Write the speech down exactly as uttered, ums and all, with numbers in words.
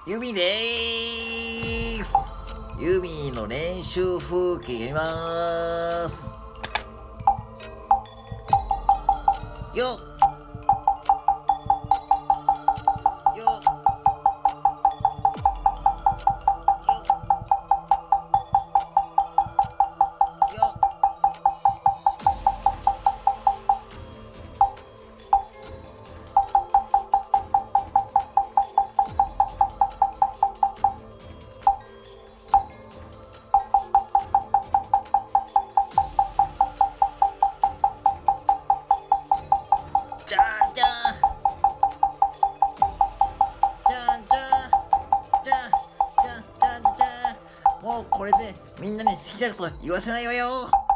ユミでーす。ユミの練習風景やりまーす。よっよっよっじゃんじゃんじゃんじゃんじゃんじゃんじゃんじゃん。もうこれでみんなに好きなこと言わせないわよ。